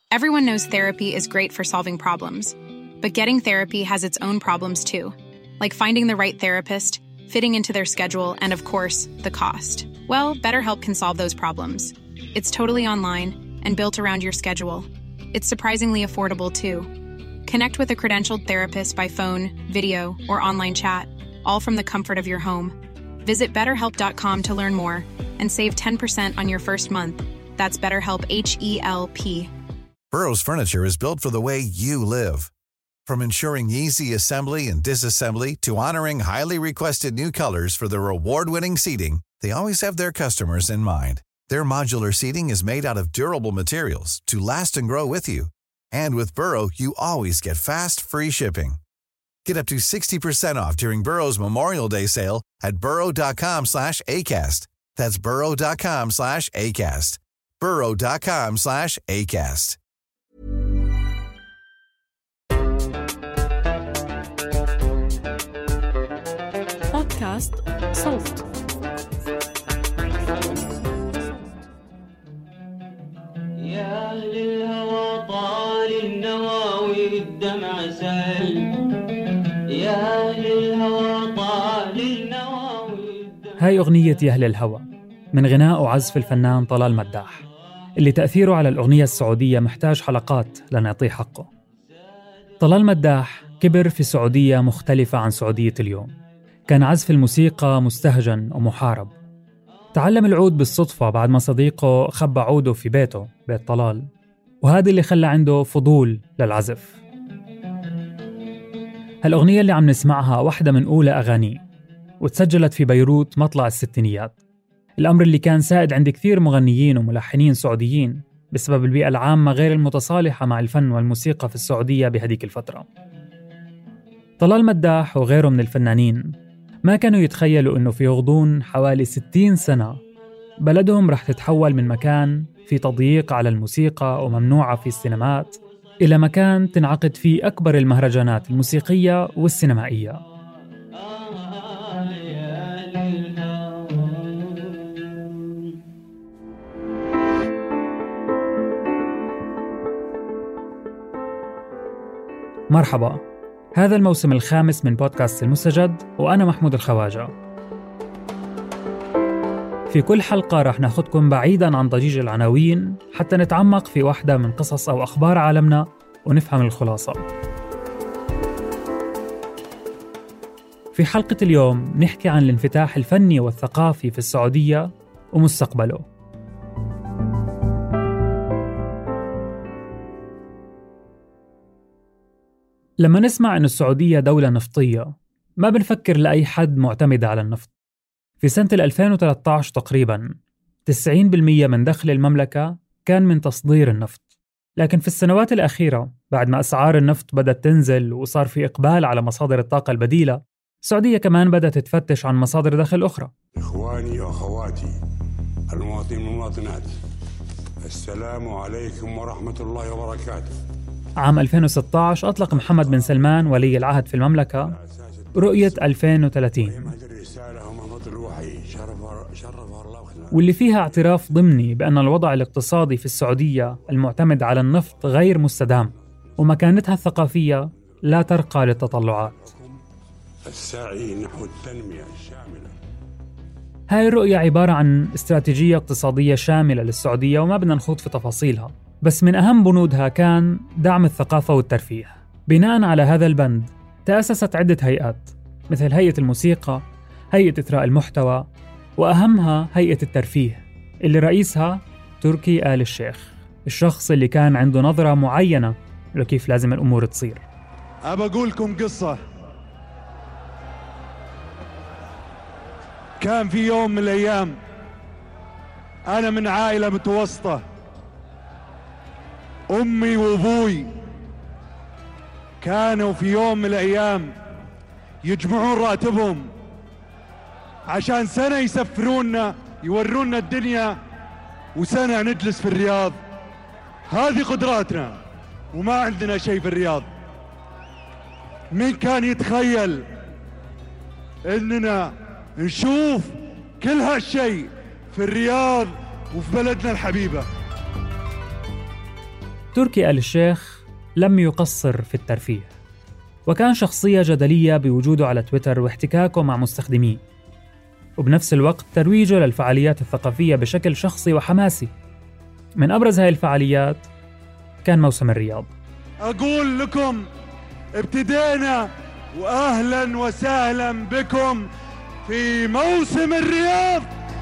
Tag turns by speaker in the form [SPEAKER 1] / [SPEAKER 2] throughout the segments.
[SPEAKER 1] Everyone knows therapy is great for solving problems, but getting therapy has its own problems too, like finding the right therapist, fitting into their schedule, and of course, the cost. Well, BetterHelp can solve those problems. It's totally online and built around your schedule. It's surprisingly affordable too. Connect with a credentialed therapist by phone, video, or online chat, all from the comfort of your home. Visit BetterHelp.com to learn more and save 10% on your first month. That's BetterHelp, H-E-L-P.
[SPEAKER 2] Burrow's furniture is built for the way you live. From ensuring easy assembly and disassembly to honoring highly requested new colors for their award-winning seating, they always have their customers in mind. Their modular seating is made out of durable materials to last and grow with you. And with Burrow, you always get fast, free shipping. Get up to 60% off during Burrow's Memorial Day sale at burrow.com/ACAST. That's burrow.com/ACAST. burrow.com/ACAST.
[SPEAKER 3] بودكاست صوت.
[SPEAKER 4] يا أهل الهوى طال النواوي الدمع سال. يا أهل الهوى طال النواوي.
[SPEAKER 5] هاي أغنية يا أهل الهوى من غناء وعزف الفنان طلال مداح، اللي تأثيره على الأغنية السعودية محتاج حلقات لنعطيه حقه. طلال مداح كبر في سعودية مختلفة عن سعودية اليوم. كان عزف الموسيقى مستهجن ومحارب. تعلم العود بالصدفة بعد ما صديقه خبى عوده في بيته، بيت طلال، وهذا اللي خلى عنده فضول للعزف. هالأغنية اللي عم نسمعها واحدة من أولى أغانيه، وتسجلت في بيروت مطلع الستينيات، الأمر اللي كان سائد عند كثير مغنيين وملحنين سعوديين بسبب البيئة العامة غير المتصالحة مع الفن والموسيقى في السعودية بهديك الفترة. طلال مداح وغيره من الفنانين ما كانوا يتخيلوا إنه في غضون حوالي 60 سنة بلدهم رح تتحول من مكان في تضييق على الموسيقى وممنوعة في السينمات إلى مكان تنعقد فيه أكبر المهرجانات الموسيقية والسينمائية. مرحبا، هذا الموسم الخامس من بودكاست المستجد، وأنا محمود الخواجة. في كل حلقة رح ناخدكم بعيداً عن ضجيج العناوين حتى نتعمق في واحدة من قصص أو أخبار عالمنا ونفهم الخلاصة. في حلقة اليوم نحكي عن الانفتاح الفني والثقافي في السعودية ومستقبله. لما نسمع أن السعودية دولة نفطية ما بنفكر لأي حد معتمدة على النفط. في سنة 2013 تقريباً 90% من دخل المملكة كان من تصدير النفط. لكن في السنوات الأخيرة بعد ما أسعار النفط بدأت تنزل وصار في إقبال على مصادر الطاقة البديلة، السعودية كمان بدأت تفتش عن مصادر دخل أخرى.
[SPEAKER 6] إخواني وأخواتي المواطنين والمواطنات، السلام عليكم ورحمة الله وبركاته. عام
[SPEAKER 5] 2016 أطلق محمد بن سلمان ولي العهد في المملكة رؤية 2030، واللي فيها اعتراف ضمني بأن الوضع الاقتصادي في السعودية المعتمد على النفط غير مستدام، ومكانتها الثقافية لا ترقى للتطلعات.
[SPEAKER 6] السعي نحو التنمية الشاملة.
[SPEAKER 5] هاي الرؤية عبارة عن استراتيجية اقتصادية شاملة للسعودية، وما بدنا نخوض في تفاصيلها، بس من أهم بنودها كان دعم الثقافة والترفيه. بناء على هذا البند تأسست عدة هيئات، مثل هيئة الموسيقى، هيئة إثراء المحتوى، وأهمها هيئة الترفيه اللي رئيسها تركي آل الشيخ، الشخص اللي كان عنده نظرة معينة لكيف لازم الأمور تصير.
[SPEAKER 7] أبى أقول لكم قصة. كان في يوم من الأيام أنا من عائلة متوسطة، أمي وأبوي كانوا في يوم من الأيام يجمعون راتبهم عشان سنة يسفرونا يورونا الدنيا، وسنة نجلس في الرياض. هذه قدراتنا وما عندنا شيء في الرياض. مين كان يتخيل إننا نشوف كل هالشيء في الرياض وفي بلدنا الحبيبة؟
[SPEAKER 5] تركي آل الشيخ لم يقصر في الترفيه، وكان شخصية جدلية بوجوده على تويتر واحتكاكه مع مستخدميه، وبنفس الوقت ترويجه للفعاليات الثقافية بشكل شخصي وحماسي. من أبرز هاي الفعاليات كان موسم الرياض.
[SPEAKER 7] أقول لكم ابتدينا وأهلا وسهلا بكم في موسم الرياض.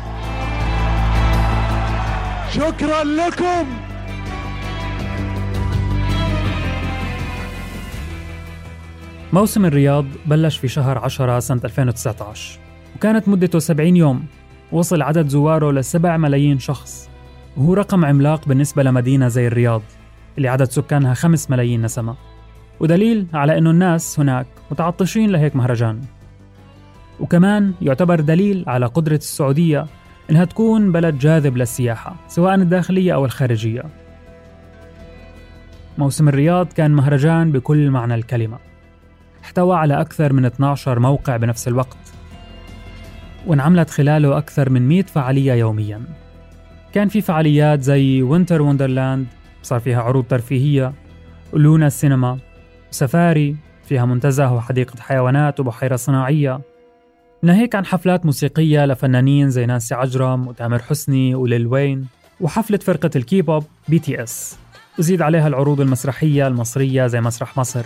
[SPEAKER 7] شكرا لكم.
[SPEAKER 5] موسم الرياض بلش في شهر 10 سنة 2019، وكانت مدته 70 يوم. وصل عدد زواره ل7 ملايين شخص، وهو رقم عملاق بالنسبة لمدينة زي الرياض اللي عدد سكانها 5 ملايين نسمة، ودليل على أنه الناس هناك متعطشين لهيك مهرجان. وكمان يعتبر دليل على قدرة السعودية إنها تكون بلد جاذب للسياحة سواء الداخلية أو الخارجية. موسم الرياض كان مهرجان بكل معنى الكلمة، احتوى على أكثر من 12 موقع بنفس الوقت، وانعملت خلاله أكثر من 100 فعالية يومياً. كان في فعاليات زي وينتر وندرلاند صار فيها عروض ترفيهية، ولونا السينما، سفاري فيها منتزه وحديقة حيوانات وبحيرة صناعية، ناهيك عن حفلات موسيقية لفنانين زي نانسي عجرم وتامر حسني وليل وين، وحفلة فرقة الكيبوب BTS، وزيد عليها العروض المسرحية المصرية زي مسرح مصر.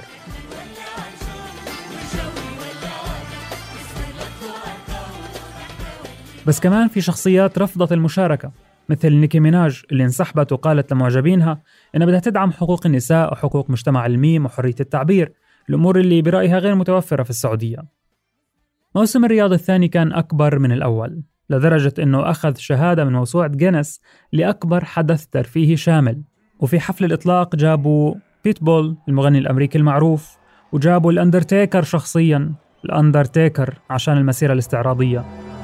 [SPEAKER 5] بس كمان في شخصيات رفضت المشاركة، مثل نيكي ميناج اللي انسحبت وقالت لمعجبينها إنها بدها تدعم حقوق النساء وحقوق مجتمع الميم وحرية التعبير، الأمور اللي برأيها غير متوفرة في السعودية. موسم الرياض الثاني كان أكبر من الأول، لدرجة إنه أخذ شهادة من موسوعة جينيس لأكبر حدث ترفيهي شامل. وفي حفل الإطلاق جابوا بيتبول المغني الأمريكي المعروف، وجابوا الأندرتيكر شخصياً، الأندرتيكر عشان المسيرة الاستعراضية.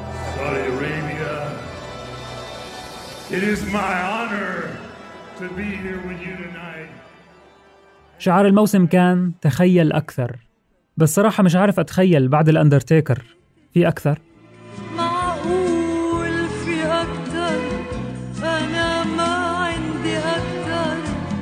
[SPEAKER 6] It is my honor to be here with you tonight.
[SPEAKER 5] شعار الموسم كان تخيل أكثر، بس صراحة مش عارف أتخيل بعد الأندرتيكر في أكثر.
[SPEAKER 3] معقول في أكثر، أنا ما عندي أكثر،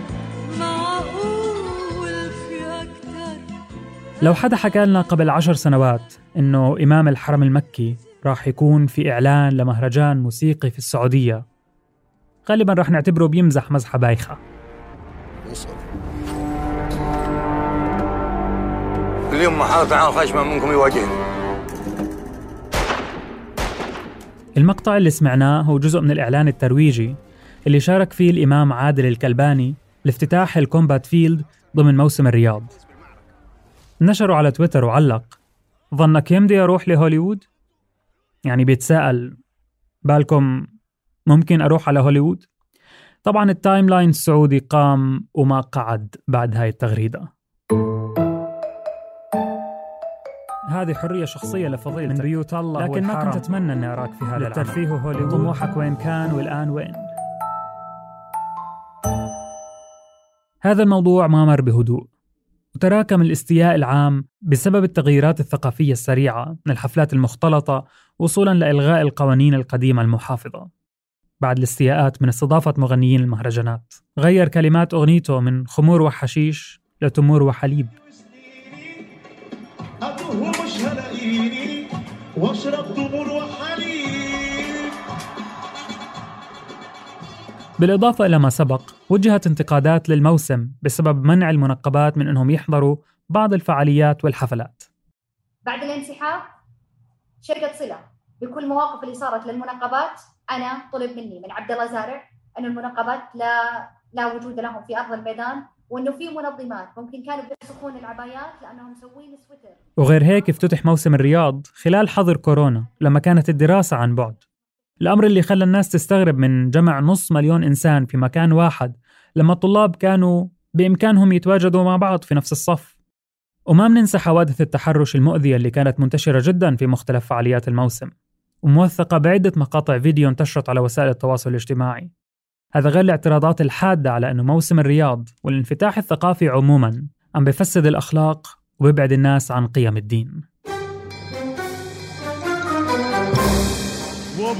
[SPEAKER 3] معقول في أكثر.
[SPEAKER 5] لو حدا حكى لنا قبل 10 سنوات إنه إمام الحرم المكي راح يكون في إعلان لمهرجان موسيقي في السعودية، غالباً راح نعتبره بيمزح مزحة بايخة.
[SPEAKER 8] اليوم محاطة عن خشمة منكم يواجهني.
[SPEAKER 5] المقطع اللي سمعناه هو جزء من الإعلان الترويجي اللي شارك فيه الإمام عادل الكلباني لافتتاح الكومبات فيلد ضمن موسم الرياض. نشره على تويتر وعلق: ظنك يمدي أروح لهوليوود؟ يعني بيتساءل بالكم ممكن أروح على هوليوود؟ طبعاً التايم لاين السعودي قام وما قعد بعد هاي التغريدة. هذه حرية شخصية لفضيلتك من بيوت الله، لكن ما كنت أتمنى أني أراك في هذا الترفيه هوليوود. طموحك وين كان والآن وين؟ هذا الموضوع ما مر بهدوء، وتراكم الاستياء العام بسبب التغييرات الثقافية السريعة من الحفلات المختلطة وصولاً لإلغاء القوانين القديمة المحافظة. بعد الاستياءات من استضافة مغنيين المهرجانات، غير كلمات أغنيته من خمور وحشيش لتمور وحليب. بالإضافة إلى ما سبق، وجهت انتقادات للموسم بسبب منع المنقبات من أنهم يحضروا بعض الفعاليات والحفلات.
[SPEAKER 9] بعد الانسحاب شركة صلة بكل المواقف اللي صارت للمنقبات، أنا طلب مني من عبد الله زارع أن المنقبات لا وجود لهم في أرض الميدان، وأنه في منظمات ممكن كانوا بيسخون العبايات لأنهم مسوين سويتر.
[SPEAKER 5] وغير هيك افتتح موسم الرياض خلال حظر كورونا لما كانت الدراسة عن بعد، الأمر اللي خلى الناس تستغرب من جمع 500,000 إنسان في مكان واحد لما الطلاب كانوا بإمكانهم يتواجدوا مع بعض في نفس الصف. وما مننسى حوادث التحرش المؤذية اللي كانت منتشرة جدا في مختلف فعاليات الموسم، وموثقة بعدة مقاطع فيديو انتشرت على وسائل التواصل الاجتماعي. هذا غير الاعتراضات الحادة على أنه موسم الرياض والانفتاح الثقافي عموماً عم بيفسد الأخلاق وبيبعد الناس عن قيم الدين.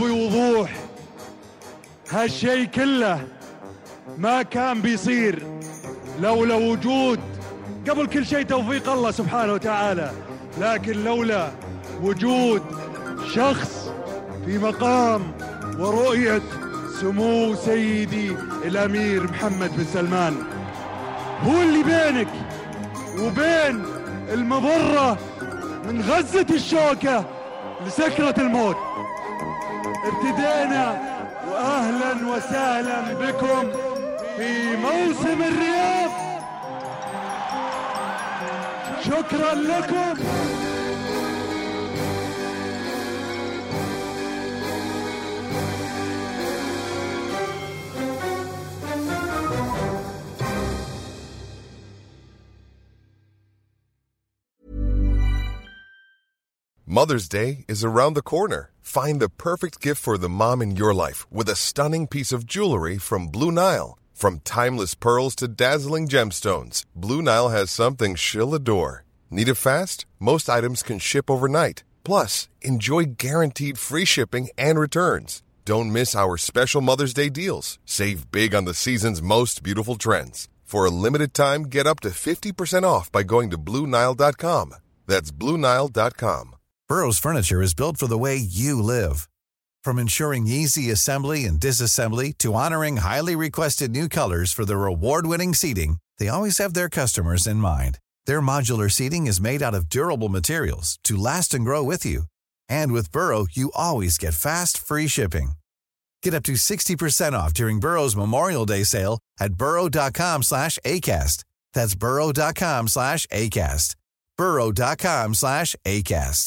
[SPEAKER 7] وبوضوح هالشي كله ما كان بيصير لولا وجود، قبل كل شيء توفيق الله سبحانه وتعالى، لكن لولا وجود شخص في مقام ورؤية سمو سيدي الأمير محمد بن سلمان، هو اللي بينك وبين المضرة من غزة الشوكة لسكرة الموت. ابتدينا، وأهلا وسهلا بكم في موسم الرياض. شكرا لكم.
[SPEAKER 10] Mother's Day is around the corner. Find the perfect gift for the mom in your life with a stunning piece of jewelry from Blue Nile. From timeless pearls to dazzling gemstones, Blue Nile has something she'll adore. Need it fast? Most items can ship overnight. Plus, enjoy guaranteed free shipping and returns. Don't miss our special Mother's Day deals. Save big on the season's most beautiful trends. For a limited time, get up to 50% off by going to BlueNile.com. That's BlueNile.com.
[SPEAKER 2] Burrow's furniture is built for the way you live. From ensuring easy assembly and disassembly to honoring highly requested new colors for their award-winning seating, they always have their customers in mind. Their modular seating is made out of durable materials to last and grow with you. And with Burrow, you always get fast, free shipping. Get up to 60% off during Burrow's Memorial Day sale at burrow.com/ACAST. That's burrow.com/ACAST. burrow.com/ACAST.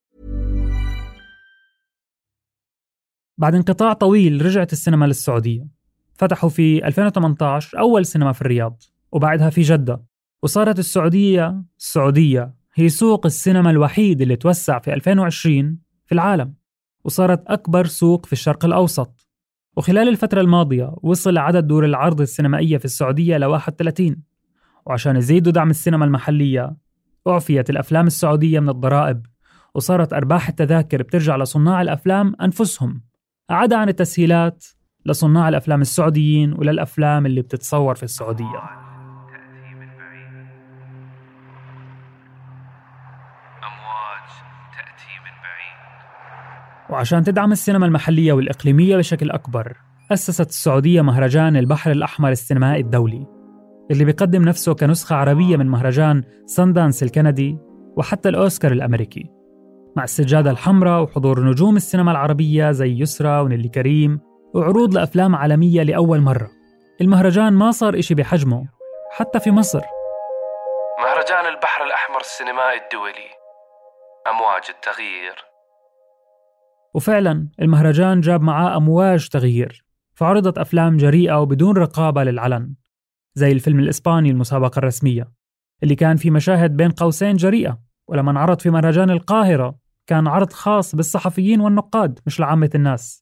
[SPEAKER 5] بعد انقطاع طويل رجعت السينما للسعودية. فتحوا في 2018 أول سينما في الرياض، وبعدها في جدة، وصارت السعودية هي سوق السينما الوحيد اللي توسع في 2020 في العالم، وصارت أكبر سوق في الشرق الأوسط. وخلال الفترة الماضية وصل عدد دور العرض السينمائية في السعودية ل 31. وعشان يزيدوا دعم السينما المحلية أعفيت الأفلام السعودية من الضرائب، وصارت أرباح التذاكر بترجع لصناع الأفلام أنفسهم، عدا عن التسهيلات لصناع الأفلام السعوديين وللأفلام اللي بتتصور في السعودية. وعشان تدعم السينما المحلية والإقليمية بشكل أكبر، أسست السعودية مهرجان البحر الأحمر السينمائي الدولي، اللي بيقدم نفسه كنسخة عربية من مهرجان ساندانس الكندي وحتى الأوسكار الأمريكي، مع السجادة الحمراء وحضور نجوم السينما العربية زي يسرى ونيلي كريم، وعروض لأفلام عالمية لأول مرة. المهرجان ما صار إشي بحجمه حتى في مصر.
[SPEAKER 11] مهرجان البحر الأحمر السينمائي الدولي، أمواج التغيير.
[SPEAKER 5] وفعلا المهرجان جاب معاه أمواج تغيير، فعرضت أفلام جريئة وبدون رقابة للعلن، زي الفيلم الإسباني المسابقة الرسمية اللي كان في مشاهد بين قوسين جريئة. ولما انعرض في مهرجان القاهرة كان عرض خاص بالصحفيين والنقاد مش لعامة الناس.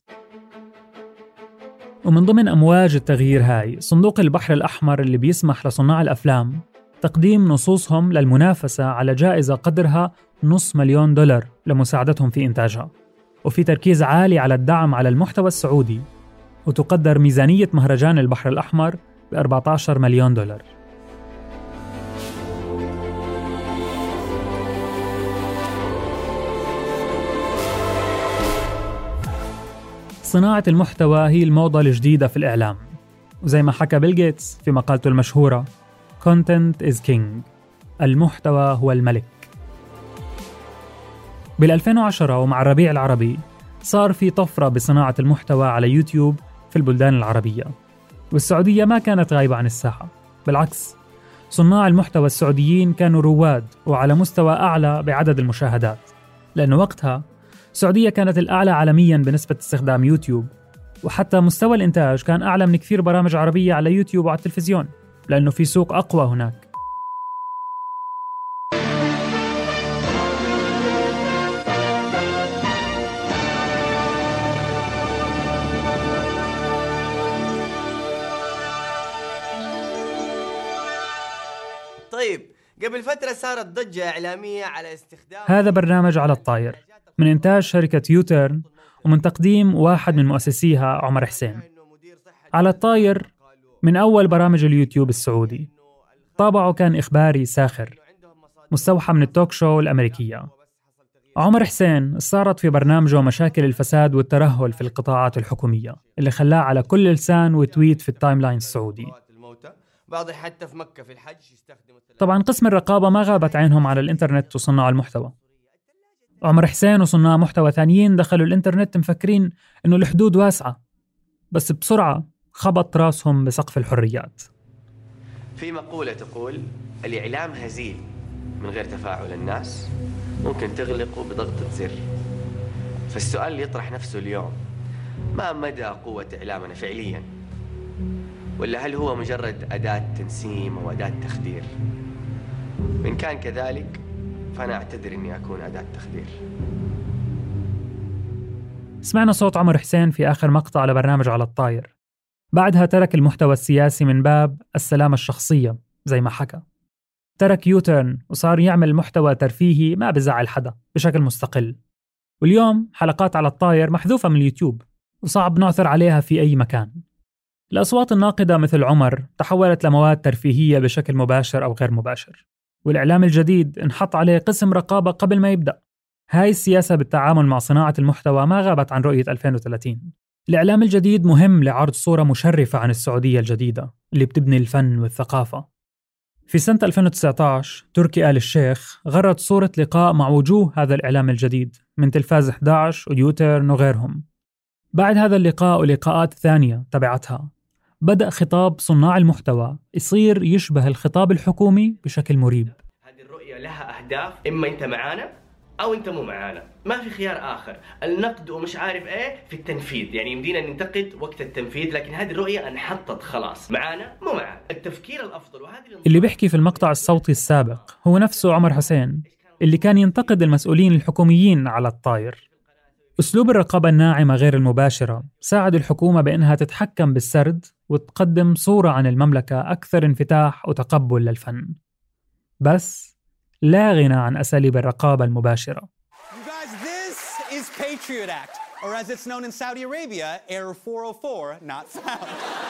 [SPEAKER 5] ومن ضمن أمواج التغيير هاي صندوق البحر الأحمر اللي بيسمح لصناع الأفلام تقديم نصوصهم للمنافسة على جائزة قدرها $500,000 لمساعدتهم في إنتاجها. وفي تركيز عالي على الدعم على المحتوى السعودي، وتقدر ميزانية مهرجان البحر الأحمر $14 مليون. صناعة المحتوى هي الموضة الجديدة في الإعلام، وزي ما حكى بيل غيتس في مقالته المشهورة Content is King، المحتوى هو الملك. بال2010 ومع الربيع العربي صار في طفرة بصناعة المحتوى على يوتيوب في البلدان العربية، والسعودية ما كانت غايبة عن الساحة. بالعكس، صناع المحتوى السعوديين كانوا رواد وعلى مستوى أعلى بعدد المشاهدات، لأن وقتها السعودية كانت الأعلى عالمياً بنسبة استخدام يوتيوب، وحتى مستوى الإنتاج كان أعلى من كثير برامج عربية على يوتيوب وعلى التلفزيون، لأنه في سوق أقوى هناك.
[SPEAKER 12] طيب، قبل فترة صارت ضجة إعلامية على استخدام
[SPEAKER 5] هذا برنامج على الطاير من إنتاج شركة يوتيرن، ومن تقديم واحد من مؤسسيها عمر حسين. على الطاير من أول برامج اليوتيوب السعودي، طابعه كان إخباري ساخر مستوحى من التوك شو الأمريكية. عمر حسين صارت في برنامجه مشاكل الفساد والترهل في القطاعات الحكومية اللي خلاه على كل لسان وتويت في التايم لاين السعودي.
[SPEAKER 12] حتى في مكة في الحج
[SPEAKER 5] طبعاً قسم الرقابة ما غابت عينهم على الإنترنت وصناع المحتوى. عمر حسين وصناع محتوى ثانيين دخلوا الإنترنت مفكرين إنه الحدود واسعة، بس بسرعة خبط راسهم بسقف الحريات.
[SPEAKER 13] في مقولة تقول الإعلام هزيل من غير تفاعل الناس ممكن تغلقه بضغطة زر. فالسؤال اللي يطرح نفسه اليوم ما مدى قوة إعلامنا فعلياً؟ ولا هل هو مجرد أداة تنسيم أو أداة تخدير؟ إن كان كذلك فأنا أعتذر إني أكون أداة تخدير.
[SPEAKER 5] سمعنا صوت عمر حسين في آخر مقطع لبرنامج على الطاير. بعدها ترك المحتوى السياسي من باب السلامة الشخصية زي ما حكى. ترك يوتيرن وصار يعمل محتوى ترفيهي ما بزعل حدا بشكل مستقل. واليوم حلقات على الطاير محذوفة من اليوتيوب وصعب نعثر عليها في أي مكان. الأصوات الناقدة مثل عمر تحولت لمواد ترفيهية بشكل مباشر أو غير مباشر، والإعلام الجديد انحط عليه قسم رقابة قبل ما يبدأ. هاي السياسة بالتعامل مع صناعة المحتوى ما غابت عن رؤية 2030. الإعلام الجديد مهم لعرض صورة مشرفة عن السعودية الجديدة اللي بتبني الفن والثقافة. في سنة 2019 تركي آل الشيخ غرد صورة لقاء مع وجوه هذا الإعلام الجديد من تلفاز 11 ويوتيرن وغيرهم. بعد هذا اللقاء ولقاءات ثانية تبعتها بدأ خطاب صناع المحتوى يصير يشبه الخطاب الحكومي بشكل مريب.
[SPEAKER 13] هذه الرؤية لها أهداف، إما أنت معانا أو أنت مو معانا، ما في خيار آخر. النقد ومش عارف إيه في التنفيذ، يعني يمدينا ننتقد وقت التنفيذ، لكن هذه الرؤية انحطت خلاص، معانا مو معانا. التفكير الأفضل
[SPEAKER 5] اللي بيحكي في المقطع الصوتي السابق هو نفسه عمر حسين اللي كان ينتقد المسؤولين الحكوميين على الطاير. أسلوب الرقابة الناعمة غير المباشرة ساعد الحكومة بأنها تتحكم بالسرد وتقدم صورة عن المملكة أكثر انفتاح وتقبل للفن، بس لا غنى عن أساليب الرقابة المباشرة.
[SPEAKER 14] You guys, this is Patriot Act, or as it's known in Saudi Arabia, Error 404, not found.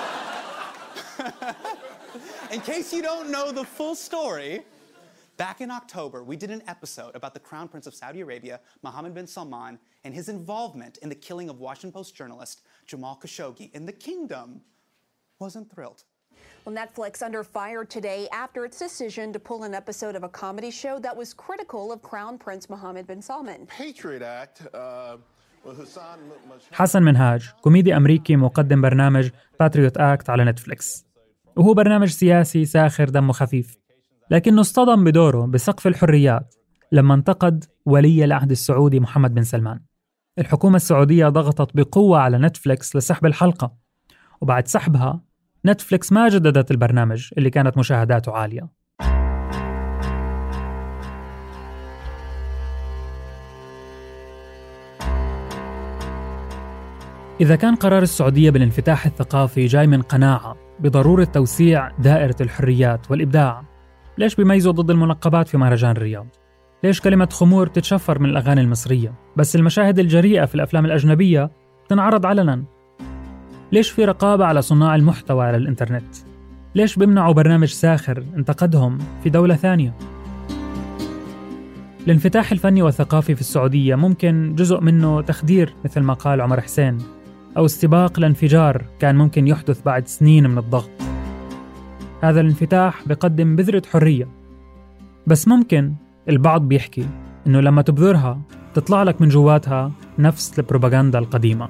[SPEAKER 14] In case you don't know the full story, back in October, we did an episode about the Crown Prince of Saudi Arabia, Mohammed bin Salman, and his involvement in the killing of Washington Post journalist Jamal Khashoggi, and the kingdom wasn't thrilled.
[SPEAKER 15] Well, Netflix under fire today after its decision to pull an episode of a comedy show that was critical of Crown Prince Mohammed bin Salman.
[SPEAKER 16] Patriot Act.
[SPEAKER 5] حسن منهاج كوميدي أمريكي مقدم برنامج باتريوت آكت على نتفليكس، وهو برنامج سياسي ساخر دمه خفيف، لكنه اصطدم بدوره بسقف الحريات لما انتقد ولي العهد السعودي محمد بن سلمان. الحكومة السعودية ضغطت بقوة على نتفليكس لسحب الحلقة، وبعد سحبها نتفليكس ما جددت البرنامج اللي كانت مشاهداته عالية. إذا كان قرار السعودية بالانفتاح الثقافي جاي من قناعة بضرورة توسيع دائرة الحريات والإبداع، ليش بيميزوا ضد المنقبات في مهرجان الرياض؟ ليش كلمة خمور تتشفر من الأغاني المصرية بس المشاهد الجريئة في الأفلام الأجنبية تنعرض علناً؟ ليش في رقابة على صناع المحتوى على الإنترنت؟ ليش بيمنعوا برنامج ساخر انتقدهم في دولة ثانية؟ الانفتاح الفني والثقافي في السعودية ممكن جزء منه تخدير مثل ما قال عمر حسين، أو استباق لانفجار كان ممكن يحدث بعد سنين من الضغط. هذا الانفتاح بيقدم بذرة حرية، بس ممكن البعض بيحكي إنه لما تبذرها تطلع لك من جواتها نفس البروباغندا القديمة.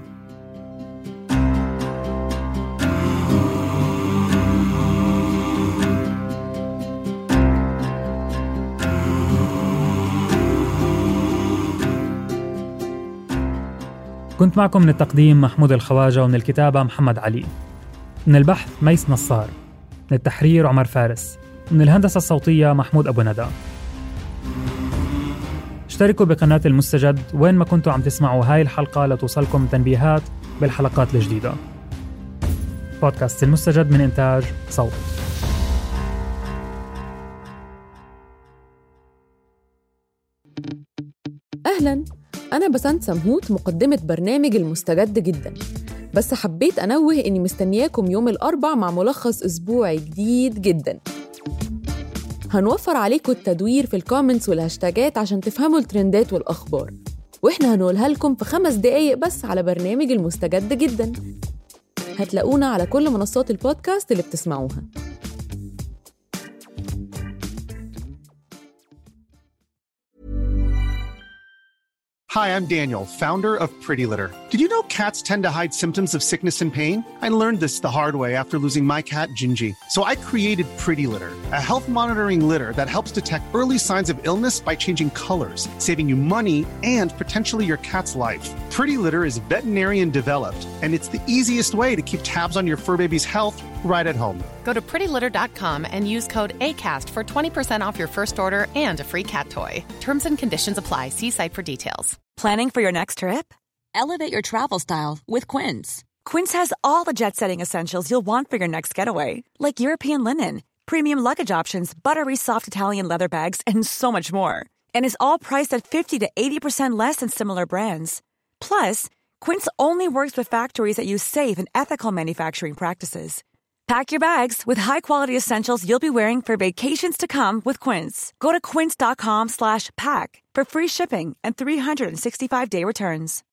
[SPEAKER 5] كنت معكم من التقديم محمود الخواجة، ومن الكتابة محمد علي، من البحث ميس نصار، من التحرير عمر فارس، من الهندسة الصوتية محمود أبو ندى. اشتركوا بقناة المستجد وين ما كنتوا عم تسمعوا هاي الحلقة لتوصلكم تنبيهات بالحلقات الجديدة. بودكاست المستجد من إنتاج صوت.
[SPEAKER 17] أهلاً، أنا بسنت سمهوت مقدمة برنامج المستجد جداً، بس حبيت أنوه إني مستنياكم يوم الأربع مع ملخص أسبوعي جديد جداً. هنوفر عليكم التدوير في الكومنتس والهاشتاجات عشان تفهموا الترندات والأخبار، وإحنا هنقولها لكم في 5 دقايق بس على برنامج المستجد جداً. هتلاقونا على كل منصات البودكاست اللي بتسمعوها.
[SPEAKER 16] Hi, I'm Daniel, founder of Pretty Litter. Did you know cats tend to hide symptoms of sickness and pain? I learned this the hard way after losing my cat, Gingy. So I created Pretty Litter, a health monitoring litter that helps detect early signs of illness by changing colors, saving you money and potentially your cat's life. Pretty Litter is veterinarian developed, and it's the easiest way to keep tabs on your fur baby's health right at home.
[SPEAKER 18] Go to prettylitter.com and use code ACAST for 20% off your first order and a free cat toy. Terms and conditions apply. See site for details.
[SPEAKER 19] Planning for your next trip? Elevate your travel style with Quince. Quince has all the jet-setting essentials you'll want for your next getaway, like European linen, premium luggage options, buttery soft Italian leather bags, and so much more. And is all priced at 50 to 80% less than similar brands. Plus, Quince only works with factories that use safe and ethical manufacturing practices. Pack your bags with high-quality essentials you'll be wearing for vacations to come with Quince. Go to quince.com/pack for free shipping and 365-day returns.